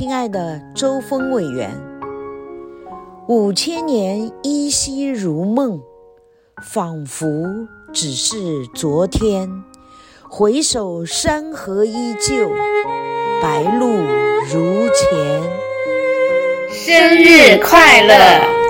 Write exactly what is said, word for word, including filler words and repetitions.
亲爱的周峰委员，五千年依稀如梦，仿佛只是昨天，回首山河依旧，白露如前。 生日快乐！